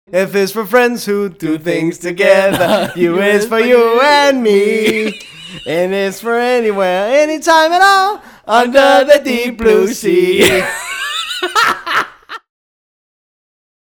F is for friends who do things together. U is for you and me. N is for anywhere, anytime at all, under the deep blue sea.